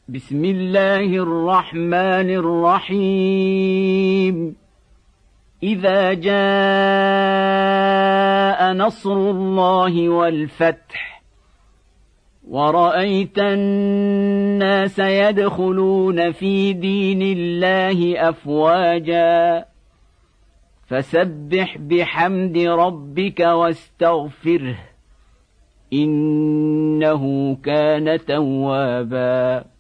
بسم الله الرحمن الرحيم إذا جاء نصر الله والفتح ورأيت الناس يدخلون في دين الله أفواجا فسبح بحمد ربك واستغفره إنه كان توابا.